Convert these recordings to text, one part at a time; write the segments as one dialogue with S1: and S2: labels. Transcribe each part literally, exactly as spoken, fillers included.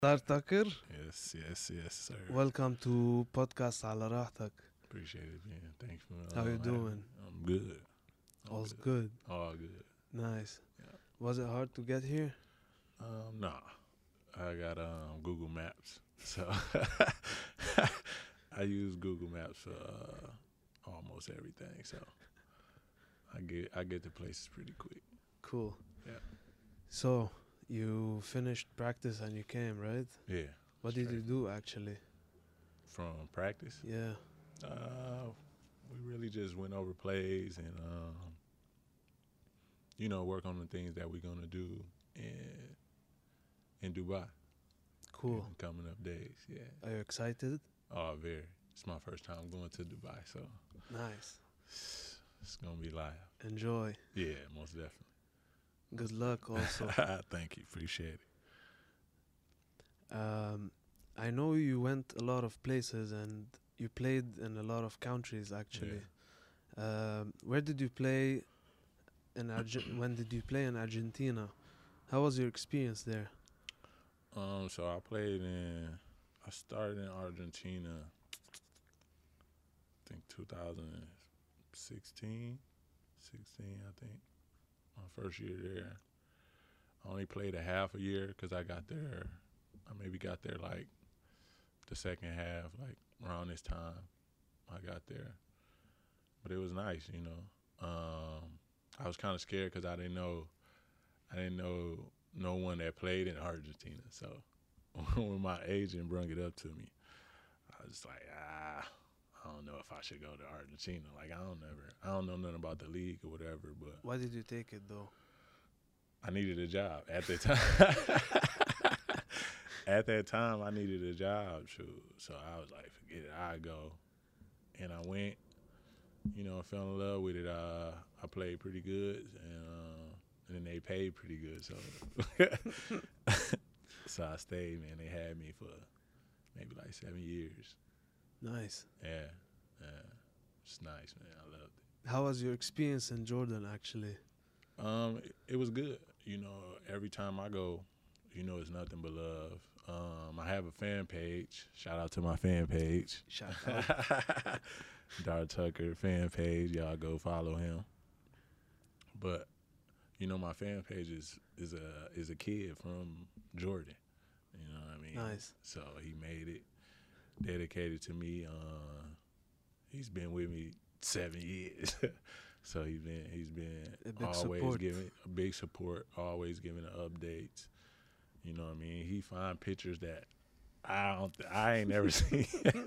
S1: Star Tucker,
S2: Yes, yes, yes, sir.
S1: welcome to podcast على راحتك.
S2: Appreciate it, man. Thanks for uh,
S1: How you
S2: having
S1: doing?
S2: me. I'm good. I'm
S1: All's
S2: good.
S1: good.
S2: All good.
S1: Nice.
S2: Yeah.
S1: Was it hard to get here?
S2: Um, nah. I got um Google Maps, so I use Google Maps for uh, almost everything. So I get I get to places pretty quick.
S1: Cool.
S2: Yeah.
S1: So, you finished practice and you came, right?
S2: Yeah.
S1: What did you
S2: straight.
S1: do actually?
S2: From practice,
S1: Yeah.
S2: uh, we really just went over plays and um, you know, work on the things that we're gonna do in in Dubai.
S1: Cool.
S2: In coming up days, yeah.
S1: Are you excited?
S2: Oh, very. It's my first time going to Dubai, so
S1: Nice.
S2: it's, it's gonna be live.
S1: Enjoy.
S2: Yeah, most definitely.
S1: Good luck also.
S2: Thank you, appreciate it.
S1: um, I know you went a lot of places and you played in a lot of countries actually. Um, where did you play in Arge- when did you play in Argentina? How was your experience there?
S2: Um, so I played in. I started in Argentina. I think two thousand sixteen, sixteen. I think my first year there. I only played a half a year because I got there. I maybe got there like the second half, like around this time. I got there, but it was nice, you know. Um, I was kind of scared because I didn't know, I didn't know no one that played in Argentina. So when my agent brought it up to me, I was like, ah, I don't know if I should go to Argentina. Like I don't never, I don't know nothing about the league or whatever. But
S1: Why did you take it though?
S2: I needed a job at that time. At that time, I needed a job, shoot. So I was like, forget it, I go, and I went. You know, I fell in love with it. Uh, I played pretty good, and uh, and then they paid pretty good. So, so I stayed, man. They had me for maybe like seven years.
S1: Nice.
S2: Yeah, yeah, it's nice, man. I loved it.
S1: How was your experience in Jordan actually?
S2: Um, it, it was good. You know, every time I go, you know, it's nothing but love. Um, I have a fan page. Shout out to my fan page.
S1: Shout out.
S2: Dar Tucker fan page. Y'all go follow him. But you know, my fan page is is a is a kid from Jordan. You know what I mean?
S1: Nice.
S2: So he made it dedicated to me. Uh, he's been with me seven years. So he's been he's been
S1: A big
S2: always
S1: support.
S2: giving a big support, always giving the updates. You know what I mean? He find pictures that I don't I ain't never seen.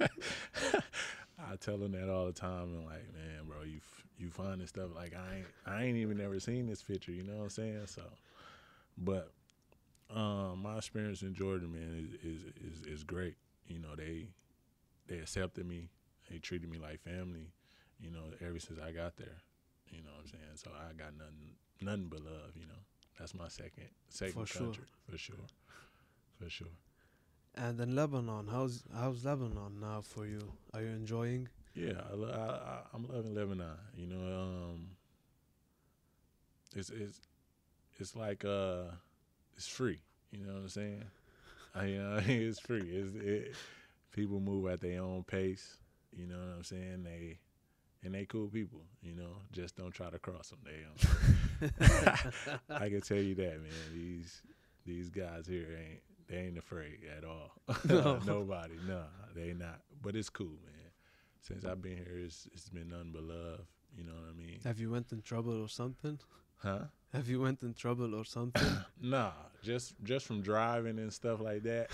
S2: I tell him that all the time and like, man, bro, you f- you finding stuff like I ain't I ain't even never seen this picture. You know what I'm saying? So, but um, my experience in Jordan, man, is is is, is great. You know, they they accepted me. They treated me like family. You know, ever since I got there. You know what I'm saying? So I got nothing nothing but love. You know, that's my second second
S1: For sure.
S2: country for sure, for sure.
S1: And in Lebanon, how's how's Lebanon now for you? Are you enjoying?
S2: Yeah, I, lo- I, I, I'm loving Lebanon. You know, um, it's it's it's like uh, it's free. You know what I'm saying? I, you know, it's free. It's, it, people move at their own pace. You know what I'm saying? They and they cool people. You know, just don't try to cross them. They, um, I can tell you that, man. These these guys here ain't they ain't afraid at all.
S1: No.
S2: Nobody, no, they not. But it's cool, man. Since I've been here, it's it's been nothing but love. You know what I mean?
S1: Have you went in trouble or something?
S2: Huh?
S1: Have you went in trouble or something?
S2: Nah, just just from driving and stuff like that.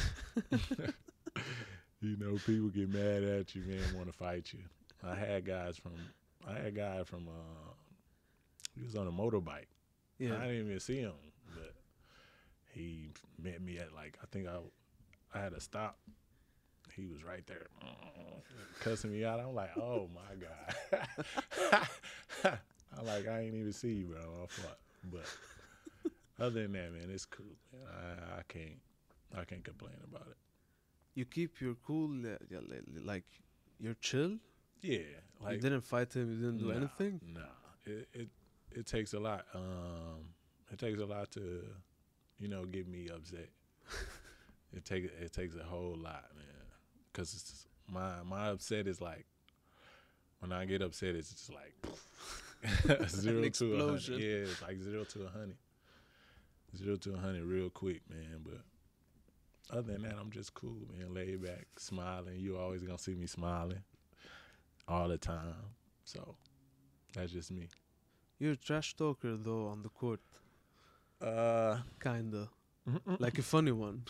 S2: You know, people get mad at you, man, want to fight you. I had guys from, I had a guy from, uh, he was on a motorbike.
S1: Yeah.
S2: I didn't even see him, but he met me at like, I think I, I had to stop. He was right there, cussing me out. I'm like, oh my God. I'm like, I ain't even see you, bro. I fought. But other than that, man, it's cool. Man. I, I can't, I can't complain about it.
S1: You keep your cool, uh, yeah, li- li- like you're chill.
S2: Yeah, like
S1: You didn't fight him. You didn't do
S2: nah,
S1: anything.
S2: Nah, it, it it takes a lot. Um, it takes a lot to, you know, get me upset. It take it takes a whole lot, man. Cause my my upset is like when I get upset, it's just like zero to a hundred. Yeah, it's like zero to a hundred. Zero to a hundred real quick, man. But other than that, I'm just cool, man. Laid back, smiling. You always gonna see me smiling all the time. So that's just me.
S1: You're a trash talker though on the court.
S2: Uh,
S1: Kinda. Like a funny one.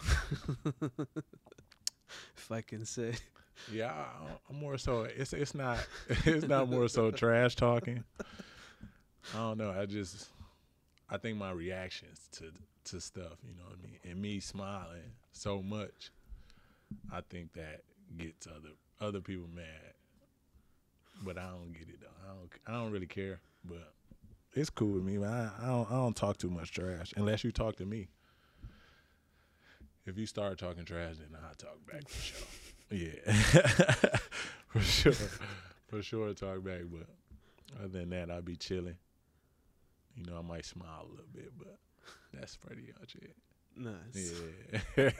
S1: If I can say.
S2: Yeah, I, I'm more so. It's it's not it's not more so trash talking. I don't know. I just I think my reactions to to stuff, you know what I mean, and me smiling so much, I think that gets other other people mad. But I don't get it though. I don't I don't really care. But it's cool with me. Man. I I don't I don't talk too much trash unless you talk to me. If you start talking trash, then I'll talk back for sure. Yeah, for sure, for sure talk back. But other than that, I'll be chilling. You know, I might smile a little bit, but that's pretty much it.
S1: Nice.
S2: Yeah.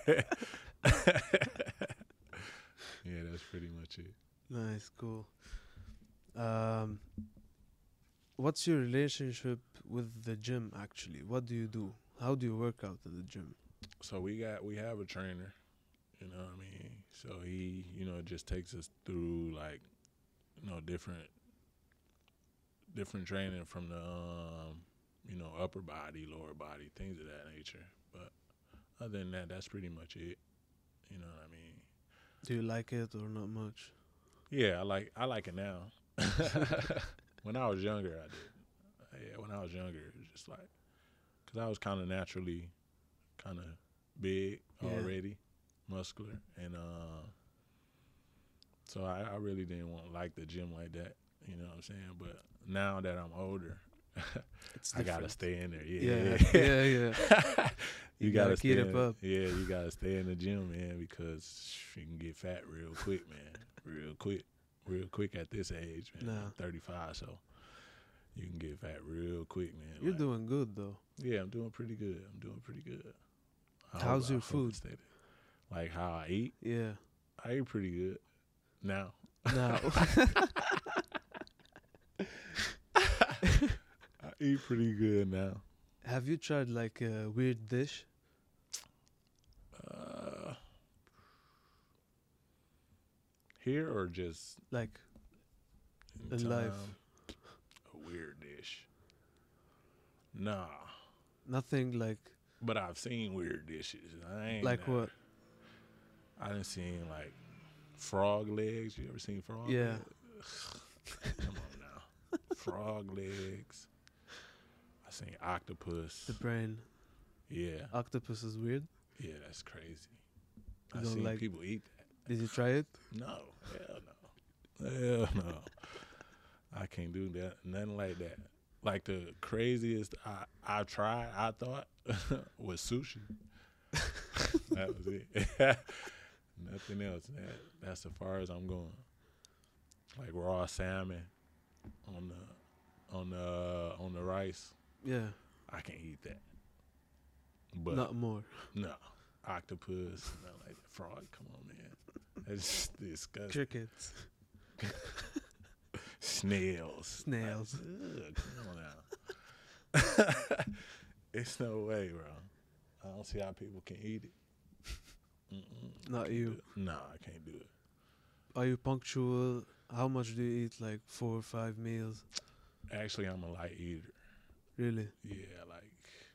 S2: Yeah, that's pretty much it.
S1: Nice, cool. Um, what's your relationship with the gym actually? What do you do? How do you work out at the gym?
S2: So we got we have a trainer, you know what I mean? So he, you know, just takes us through like, you know, different different training from the um, you know, upper body, lower body, things of that nature. But other than that, that's pretty much it. You know what I mean?
S1: Do you like it or not much?
S2: Yeah, I like I like it now. When I was younger, I did. Yeah, when I was younger, it was just like, because I was kind of naturally kind of big
S1: Yeah.
S2: already, muscular, and uh, so I, I really didn't want to like the gym like that. You know what I'm saying? But now that I'm older,
S1: It's
S2: I gotta
S1: different.
S2: stay in there.
S1: Yeah,
S2: Yeah,
S1: yeah, yeah.
S2: you,
S1: You
S2: gotta,
S1: gotta
S2: stay
S1: keep it
S2: in,
S1: up.
S2: Yeah, you gotta stay in the gym, man, because you can get fat real quick, man. Real quick, real quick at this age, man.
S1: Nah.
S2: I'm thirty-five, so you can get fat real quick, man.
S1: You're
S2: Like,
S1: doing good though.
S2: yeah, I'm doing pretty good. I'm doing pretty good. I
S1: How's
S2: hope-
S1: your
S2: I hope I
S1: food?
S2: stay there. Like how I eat,
S1: Yeah.
S2: I eat pretty good now.
S1: Now.
S2: I eat pretty good now.
S1: Have you tried like a weird dish?
S2: Uh, here or just
S1: Like
S2: in
S1: In life.
S2: time? A weird dish. Nah,
S1: nothing like
S2: but I've seen weird dishes. I ain't
S1: like
S2: never-
S1: what?
S2: I done seen like frog legs. You ever seen frog
S1: Yeah.
S2: legs? Come on now. Frog legs. I seen octopus.
S1: The brain.
S2: Yeah.
S1: Octopus is weird.
S2: Yeah, that's crazy.
S1: You
S2: I
S1: don't
S2: seen
S1: like-
S2: people eat that.
S1: Did you try it?
S2: No. Hell no. Hell no. I can't do that. Nothing like that. Like the craziest I I tried, I thought, was sushi. That was it. Nothing else. That that's as far as I'm going. Like raw salmon on the on the on the rice.
S1: Yeah.
S2: I can't eat that. But
S1: Not more.
S2: no, octopus, not like that. Frog. Come on, man. That's disgusting.
S1: Crickets.
S2: Snails.
S1: Snails.
S2: Like, ugh, come on now. It's no way, bro. I don't see how people can eat it. Mm-mm,
S1: Not
S2: can't
S1: you.
S2: do it. No, I can't do it.
S1: Are you punctual? How much do you eat? Like four or five meals?
S2: Actually, I'm a light eater.
S1: Really?
S2: Yeah, like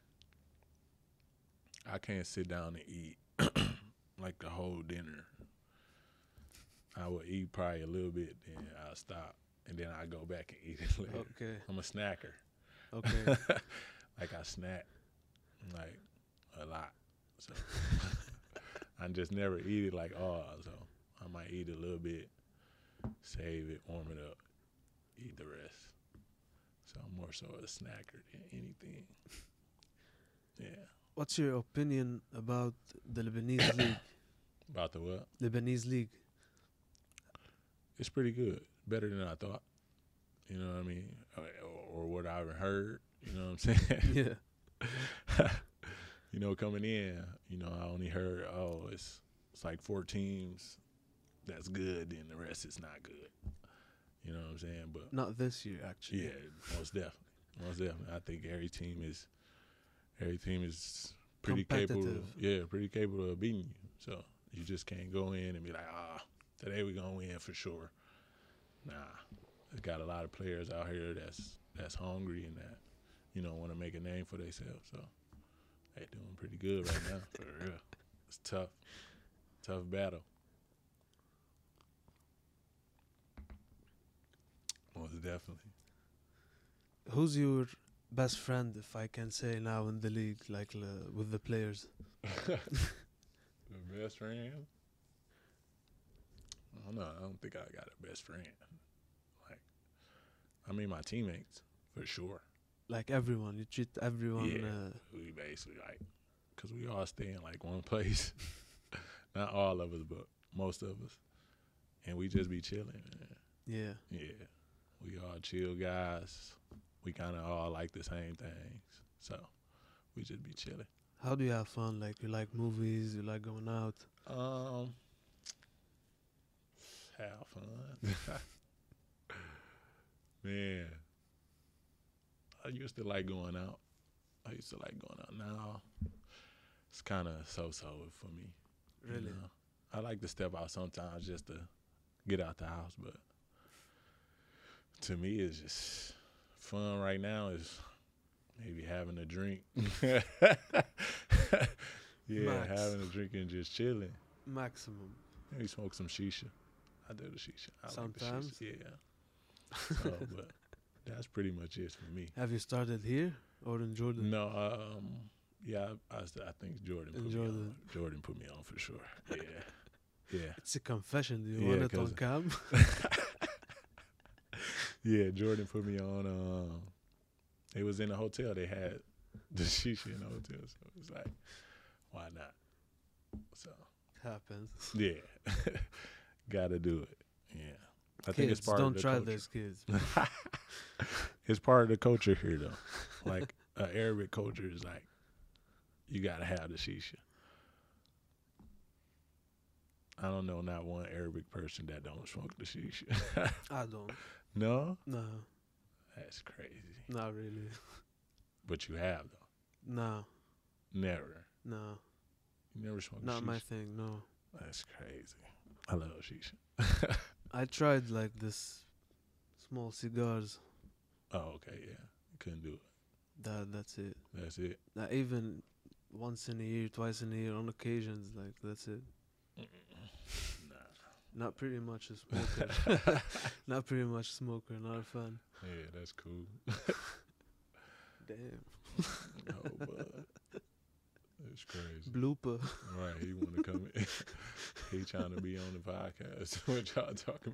S2: I can't sit down and eat like the whole dinner. I will eat probably a little bit, then I'll stop, and then I go back and eat it later.
S1: Okay.
S2: I'm a snacker.
S1: Okay.
S2: Like I snack like a lot. So I just never eat it like all. So I might eat a little bit, save it, warm it up, eat the rest. So I'm more so a snacker than anything. Yeah.
S1: What's your opinion about the Lebanese league?
S2: About the what?
S1: Lebanese league.
S2: It's pretty good. Better than I thought. You know what I mean? Or, or what I've heard. You know what I'm saying?
S1: Yeah.
S2: you know, coming in, you know, I only heard, oh, it's it's like four teams that's good, then the rest is not good. You know what I'm saying? But
S1: Not this year, actually.
S2: yeah, most definitely, most definitely. I think every team is every team is pretty capable.
S1: Competitive.
S2: Yeah, pretty capable of beating you. So you just can't go in and be like, ah, today we're gonna win for sure. Nah, there's got a lot of players out here that's that's hungry and that, you know, want to make a name for themselves. So they doing pretty good right now, for real. It's tough, tough battle. Most definitely.
S1: Who's your best friend, if I can say now, in the league, like uh, with the players?
S2: The best friend? I don't know. I don't think I got a best friend. Like, I mean, my teammates, for sure.
S1: Like everyone, you treat everyone.
S2: Yeah.
S1: Uh,
S2: We basically, like, because we all stay in, like, one place. Not all of us, but most of us. And we just be chilling, man.
S1: yeah.
S2: Yeah. We all chill guys. We kind of all like the same things. So, we just be chilling.
S1: How do you have fun? Like you like movies, you like going out.
S2: Um, have fun. Man, I used to like going out. I used to like going out. Now, it's kind of so-so for me. you
S1: Really?
S2: know. I like to step out sometimes just to get out the house, but to me, it's just fun right now is maybe having a drink. Yeah,
S1: Max.
S2: having a drink and just chilling.
S1: Maximum.
S2: Maybe smoke some shisha. I do the shisha. I
S1: Sometimes?
S2: like the shisha. Yeah. So, but that's pretty much it for me.
S1: Have you started here or in Jordan?
S2: No, um, yeah, I, I, I think Jordan put
S1: In
S2: me
S1: Jordan.
S2: on. Jordan put me on for sure. Yeah, yeah,
S1: It's a confession. Do you
S2: Yeah,
S1: want it
S2: 'cause-
S1: on cam?
S2: yeah. Jordan put me on. Um, it was in a hotel. They had the shisha in the hotel, so it was like, why not? So
S1: Happens.
S2: yeah, gotta do it. Yeah, I think
S1: Kids,
S2: it's part
S1: don't
S2: of the
S1: try
S2: culture.
S1: this, kids.
S2: It's part of the culture here, though. Like, uh, Arabic culture is like, you gotta have the shisha. I don't know not one Arabic person that don't smoke the shisha.
S1: I don't.
S2: No?
S1: No,
S2: That's crazy.
S1: not really.
S2: But you have, though.
S1: No,
S2: Never.
S1: no,
S2: You never smoked
S1: not
S2: shisha?
S1: my thing. No,
S2: That's crazy. I love shisha.
S1: I tried like this small cigars.
S2: Oh, okay, yeah. Couldn't do it.
S1: That that's it.
S2: That's it.
S1: Not even once in a year, twice in a year, on occasions. Like that's it.
S2: Nah.
S1: Not pretty much a smoker. Not pretty much smoker. Not a fan.
S2: Yeah, that's cool.
S1: Damn.
S2: No, but it's crazy.
S1: Blooper.
S2: Right, he want to come in. He trying to be on the podcast. What y'all talking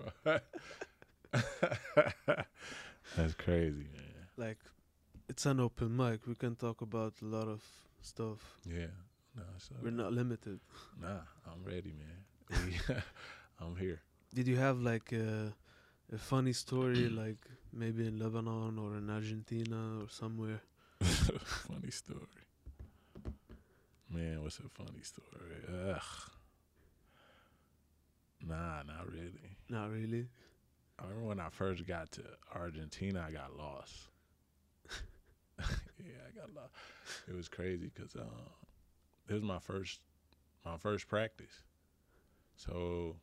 S2: about? That's crazy, man.
S1: Like, it's an open mic. We can talk about a lot of stuff.
S2: Yeah. No, so,
S1: We're not limited.
S2: nah, I'm ready, man. We- I'm here.
S1: Did you have like a, a funny story, like maybe in Lebanon or in Argentina or somewhere?
S2: Funny story. Man, what's a funny story? Ugh. Nah, not really.
S1: Not really.
S2: I remember when I first got to Argentina, I got lost. Yeah, I got lost. It was crazy because um, it was my first, my first practice. So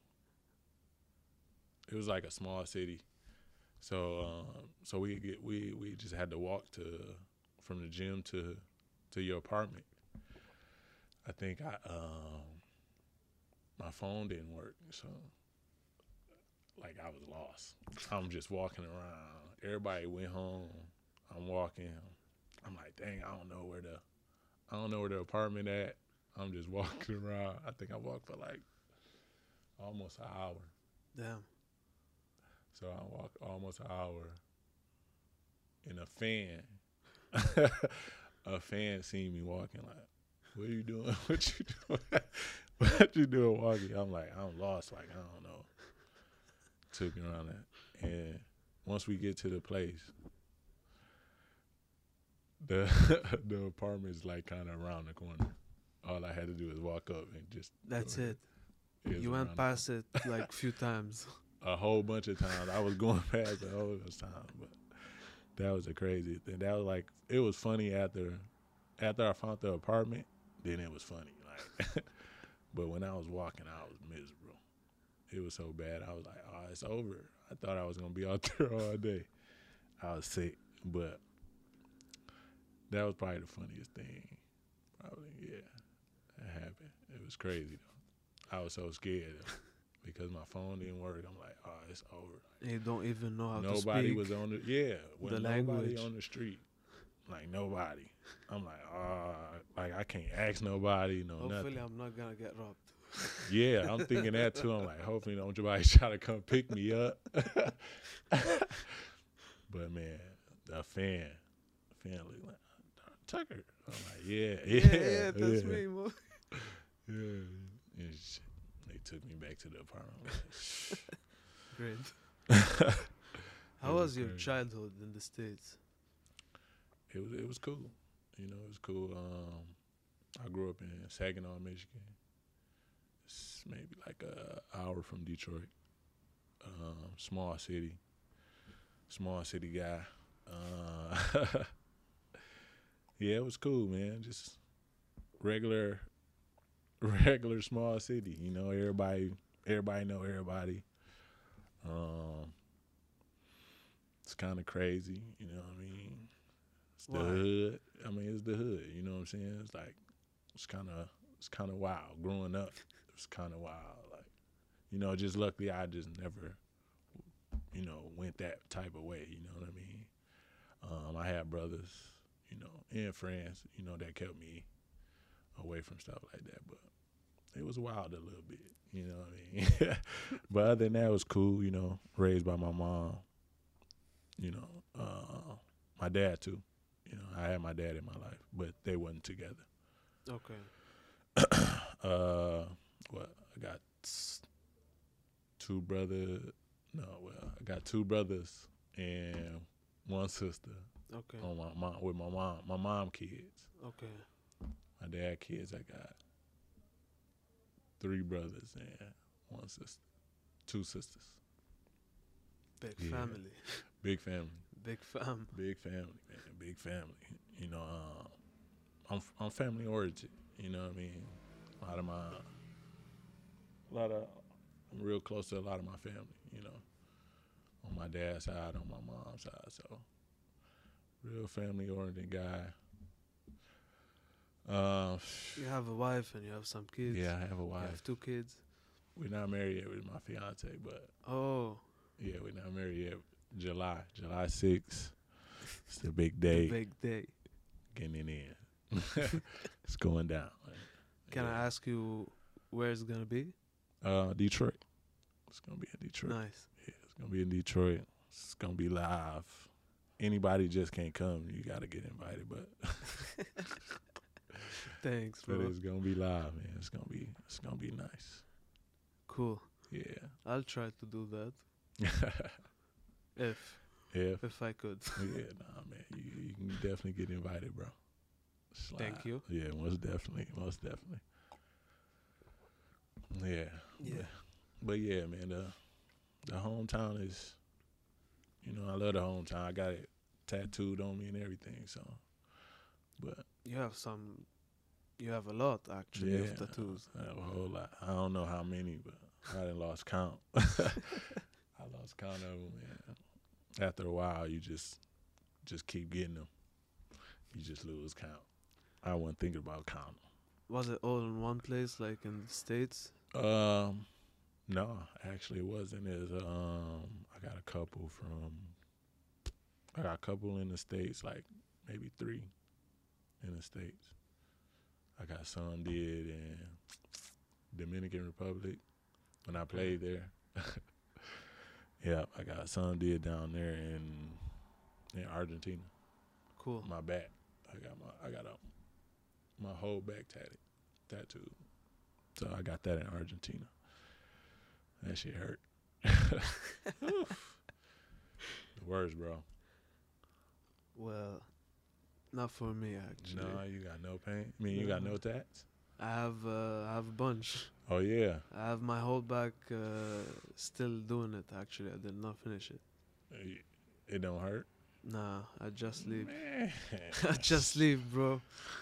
S2: it was like a small city. So um, so we get we we just had to walk to from the gym to to your apartment. I think I um my phone didn't work, so like I was lost. I'm just walking around. Everybody went home. I'm walking. I'm like, dang, I don't know where the I don't know where the apartment at. I'm just walking around. I think I walked for like almost an hour.
S1: Damn.
S2: So I walked almost an hour in a fan. A fan seen me walking like, what are you doing? What you doing? What you doing walking? I'm like, I'm lost. Like, I don't know. Took me around that. And once we get to the place, the the apartment's like kind of around the corner. All I had to do is walk up and just.
S1: That's
S2: go ahead.
S1: it.
S2: It was
S1: You
S2: around
S1: went
S2: the
S1: past it like few times.
S2: a whole bunch of times. I was going past a whole bunch of times, but that was a crazy thing. That was like it was funny after after I found the apartment. Then it was funny, like. But when I was walking, I was miserable. It was so bad. I was like, "Oh, it's over." I thought I was gonna be out there all day. I was sick, but that was probably the funniest thing. Probably, yeah, that happened. It was crazy though. I was so scared though, because my phone didn't work. I'm like, "Oh, it's over."
S1: You don't even know how to
S2: Nobody
S1: speak
S2: was on the yeah. When
S1: the
S2: nobody
S1: language.
S2: on the street, like nobody. I'm like, oh, like I can't ask nobody, no
S1: Hopefully,
S2: nothing.
S1: I'm not gonna get robbed.
S2: Yeah, I'm thinking that too. I'm like, hopefully, don't nobody try to come pick me up. But man, the fan, fan looked like Tucker. I'm like, yeah, yeah,
S1: Yeah, yeah, that's
S2: yeah.
S1: me, boy.
S2: Yeah. And sh- they took me back to the apartment. I'm like,
S1: Great. How
S2: It
S1: was
S2: was
S1: your
S2: crazy.
S1: childhood in the States?
S2: It was it was cool. You know, it was cool. Um, I grew up in Saginaw, Michigan. It's maybe like a hour from Detroit. Um, small city. Small city guy. Uh, yeah, it was cool, man. Just regular, regular small city. You know, everybody, everybody know everybody. Um, it's kind of crazy. You know what I mean? It's the
S1: Why?
S2: hood. I mean, it's the hood. You know what I'm saying? It's like it's kind of it's kind of wild. Growing up, it was kind of wild. Like, you know, just luckily I just never, you know, went that type of way. You know what I mean? Um, I had brothers, you know, and friends, you know, that kept me away from stuff like that. But it was wild a little bit. You know what I mean? But other than that, it was cool. You know, raised by my mom. You know, uh, my dad too. You know, I had my dad in my life, but they wasn't together.
S1: Okay.
S2: Uh, what I got s- two brothers. No, well, I got two brothers and one sister
S1: Okay.
S2: on my mom with my mom. My mom kids.
S1: Okay.
S2: My dad kids. I got three brothers and one sister, two sisters.
S1: Big
S2: Yeah.
S1: family.
S2: Big family.
S1: Big fam.
S2: Big family, man. Big family. You know, um, I'm I'm family oriented. You know what I mean? A lot of my, a lot of, I'm real close to a lot of my family. You know, on my dad's side, on my mom's side. So, real family oriented guy. Uh,
S1: You have a wife and you have some kids.
S2: yeah, I have a
S1: You
S2: wife.
S1: have two kids.
S2: We're not married yet with my fiance, but
S1: Oh,
S2: yeah, we're not married yet. July, July sixth. It's the big day.
S1: the big day.
S2: Getting it in. It's going down.
S1: Can
S2: Yeah.
S1: I ask you where it's gonna be?
S2: Uh, Detroit. It's gonna be in Detroit.
S1: Nice.
S2: Yeah, it's gonna be in Detroit. It's gonna be live. Anybody just can't come. You gotta get invited, but
S1: Thanks,
S2: but
S1: bro.
S2: it's gonna be live, man. It's gonna be it's gonna be nice.
S1: Cool.
S2: Yeah.
S1: I'll try to do that if
S2: Yeah.
S1: if I could.
S2: Yeah. Nah, man. You, you can definitely get invited, bro. It's
S1: Thank
S2: live.
S1: you.
S2: Yeah, most definitely. Most definitely. Yeah.
S1: Yeah.
S2: But, but yeah, man. The the hometown is. You know, I love the hometown. I got it tattooed on me and everything. So, but
S1: You have some. You have a lot actually
S2: yeah,
S1: of tattoos.
S2: I have a whole lot. I don't know how many, but I done lost count. I lost count of them, man. After a while, you just just keep getting them. You just lose count. I wasn't thinking about counting.
S1: Was it all in one place, like in the States?
S2: Um, no, actually, it wasn't. As um, I got a couple from. I got a couple in the States, like maybe three in the States. I got some did in Dominican Republic when I played there. Yeah, I got some did down there in in Argentina.
S1: Cool.
S2: My back, I got my I got a my whole back tatted, tattooed. So I got that in Argentina. That shit hurt. The worst, bro.
S1: Well, Not for me actually.
S2: No, you got no paint. I mean, you got
S1: No.
S2: no tats.
S1: I have uh, I have a bunch.
S2: Oh yeah.
S1: I have my whole back uh, still doing it. Actually, I did not finish it.
S2: It don't hurt.
S1: Nah, I just leave.
S2: Man.
S1: I just leave, bro.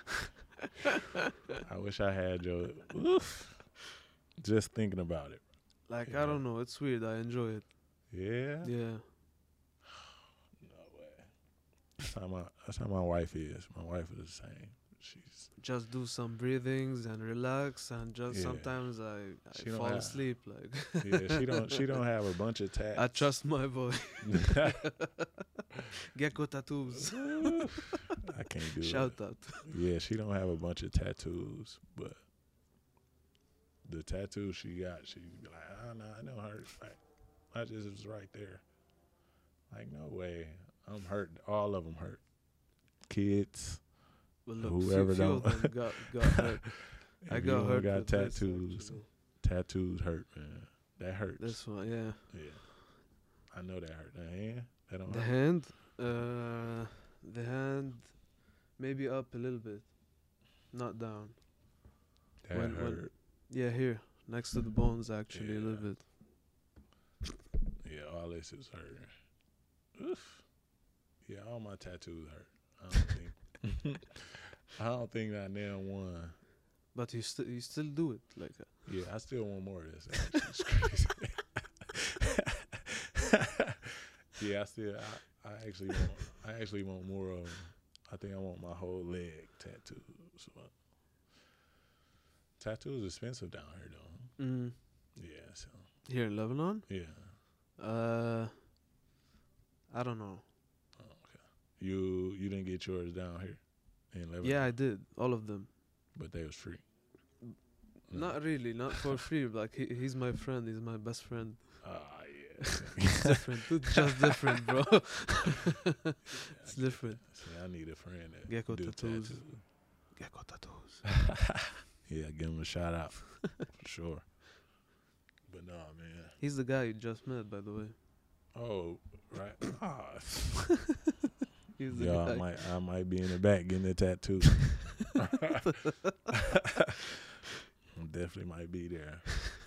S2: I wish I had your. Oof. Just thinking about it.
S1: Like
S2: Yeah.
S1: I don't know, it's weird. I enjoy it.
S2: Yeah.
S1: Yeah.
S2: No way. That's how my that's how my wife is. My wife is the same. She's
S1: Just do some breathings and relax, and just
S2: Yeah.
S1: sometimes I, I
S2: She don't
S1: fall
S2: have-
S1: asleep. Like
S2: yeah. She don't she don't have a bunch of tats.
S1: I trust my boy. Gecko tattoos.
S2: I can't do
S1: Shout
S2: it.
S1: out.
S2: Yeah, she don't have a bunch of tattoos, but the tattoo she got, she be like, oh no, I don't hurt. Like, I just was right there. Like, no way. I'm hurt. All of them hurt. Kids.
S1: Well, look,
S2: Whoever
S1: few, few of
S2: don't-
S1: them got got hurt. I
S2: If
S1: got
S2: you don't
S1: hurt.
S2: got
S1: with this,
S2: tattoos.
S1: actually.
S2: Tattoos hurt, man. That hurts.
S1: This one, yeah.
S2: Yeah. I know that hurt. The hand, that don't
S1: The
S2: hurt.
S1: hand, uh, the hand, maybe up a little bit, not down.
S2: That
S1: when- when-
S2: hurt.
S1: Yeah, here next to the bones, actually, a little
S2: Yeah.
S1: bit.
S2: Yeah, all this is hurting. Oof. Yeah, all my tattoos hurt. I don't think. I don't think I nailed one.
S1: But you still you still do it like uh,
S2: Yeah, I still want more of this. Actually. It's crazy. Yeah, I still. I, I actually want. I actually want more of 'em. I think I want my whole leg tattoos. But tattoos expensive down here, though.
S1: mm,
S2: Yeah. So
S1: here in Lebanon.
S2: yeah.
S1: Uh, I don't know.
S2: Oh, okay. You you didn't get yours down here in Lebanon.
S1: Yeah, I did all of them.
S2: But they was free. No.
S1: Not really, not for free. Like he, he's my friend. He's my best friend.
S2: Ah, yeah.
S1: It's different. It's just different, bro.
S2: Yeah,
S1: It's
S2: I get
S1: different.
S2: that. See, I need a friend that
S1: Gecko
S2: do
S1: tattoos.
S2: tattoos.
S1: Gecko tattoos.
S2: Yeah, give him a shout out for sure. But no, man.
S1: He's the guy you just met, by the way.
S2: Oh, right. Ah,
S1: He's the
S2: yeah,
S1: guy.
S2: I might, I might be in the back getting a tattoo. Definitely might be there.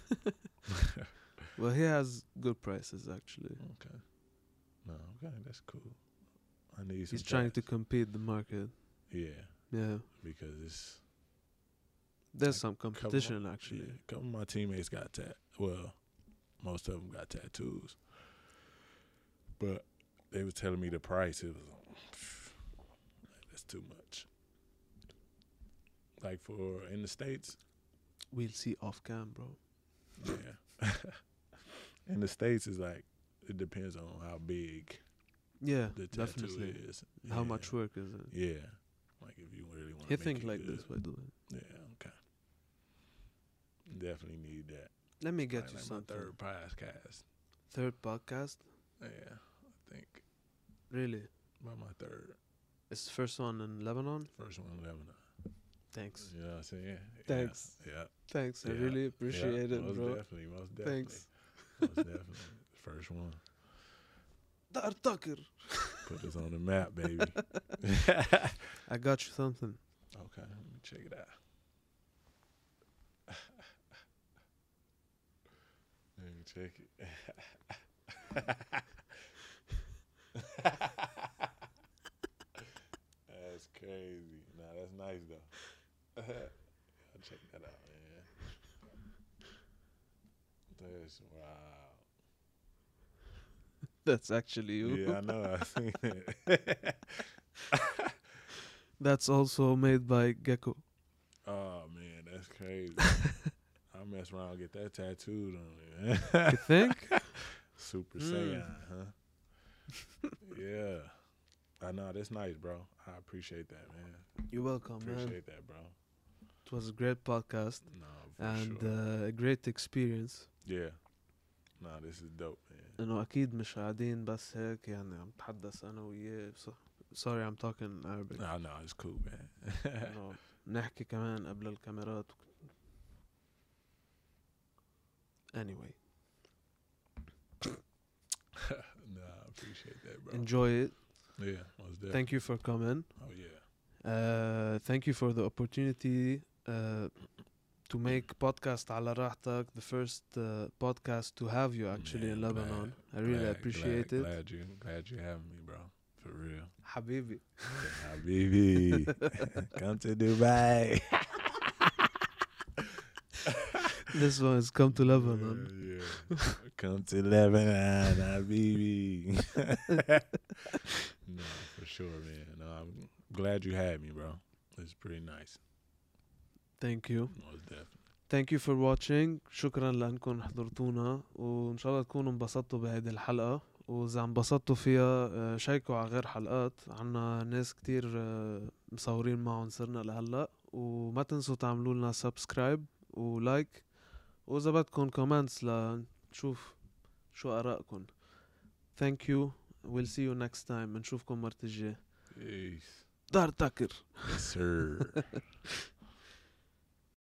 S1: Well, he has good prices actually.
S2: Okay. No, okay, that's cool. I need some.
S1: He's trying to
S2: tats.
S1: compete the market.
S2: Yeah,
S1: Yeah,
S2: because it's
S1: there's
S2: Like,
S1: some
S2: couple
S1: competition
S2: of-
S1: actually.
S2: yeah, a couple of my teammates got tat. Well, most of them got tattoos, but they was telling me the price. It was that's too much. Like for in the States,
S1: We'll see off cam, bro.
S2: yeah. In the States, it's like it depends on how big
S1: Yeah,
S2: the tattoo
S1: definitely.
S2: is.
S1: How
S2: Yeah.
S1: much work is it?
S2: Yeah, like if you really want
S1: He
S2: to
S1: think
S2: it
S1: like
S2: good.
S1: this, by the way.
S2: Yeah, okay. Definitely need that.
S1: Let me get
S2: Like-
S1: you
S2: like
S1: something.
S2: my third podcast.
S1: Third podcast?
S2: Yeah, I think
S1: Really?
S2: about my third.
S1: It's the first one in Lebanon?
S2: First one in Lebanon.
S1: Thanks.
S2: You know what I'm saying? Yeah.
S1: Thanks.
S2: Yeah.
S1: Thanks. I
S2: Yeah.
S1: really
S2: yeah,
S1: appreciate it,
S2: most
S1: bro.
S2: Definitely, most definitely.
S1: Thanks.
S2: Most definitely. First one.
S1: Dar Tucker.
S2: Put us on the map, baby.
S1: I got you something.
S2: Okay, let me check it out. Let me check it. That's crazy. Nah, that's nice though. I'll check that out, man. That's wow.
S1: That's actually you.
S2: Yeah, I know. I seen it.
S1: That's also made by Gecko.
S2: Oh man, that's crazy. I mess around and get that tattooed on me,
S1: You
S2: man.
S1: think?
S2: Super
S1: Mm.
S2: Saiyan, huh? Yeah. I know, that's nice, bro. I appreciate that, man.
S1: You're welcome, man.
S2: Appreciate that, bro.
S1: It was a great podcast
S2: No, for
S1: and
S2: sure.
S1: uh, a great experience.
S2: Yeah. No, this is dope, man.
S1: انه اكيد مش قاعدين بس هيك يعني عم بتحدث انا وياه. So- sorry I'm talking Arabic.
S2: No, no, it's cool, man.
S1: انه نحكي كمان قبل الكاميرات. Anyway,
S2: No, I appreciate that, bro.
S1: enjoy it.
S2: Yeah, most definitely.
S1: Thank you for coming.
S2: Oh, yeah.
S1: uh, thank you for the opportunity uh, to make podcast على راحتك, the first uh, podcast to have you actually
S2: Man,
S1: in Lebanon.
S2: glad,
S1: I really
S2: glad,
S1: appreciate
S2: glad,
S1: it.
S2: Glad you, glad you having me, bro. For real.
S1: Habibi.
S2: Habibi, come to Dubai.
S1: This one is come to Lebanon.
S2: Yeah, yeah. Come to Lebanon, Habibi. No, for sure, man. No, I'm glad you had me, bro. It's pretty nice.
S1: Thank you.
S2: Most definitely.
S1: Thank you for watching. شكرا لأنكم حضرتونا وإن شاء الله تكونوا انبسطتوا بهذه الحلقة. وإذا انبسطتوا فيها شاركوا على غير حلقات. عنا ناس كتير مصورين معهم صرنا لهلأ. وما تنسوا تعملوا لنا سبسكرايب ولايك. وإذا بدكم كومنتس لنشوف شو آرائكم. Thank you. We'll see you next time. نشوفكم مرة الجاية.
S2: Peace.
S1: دار تاكر.
S2: Yes, sir.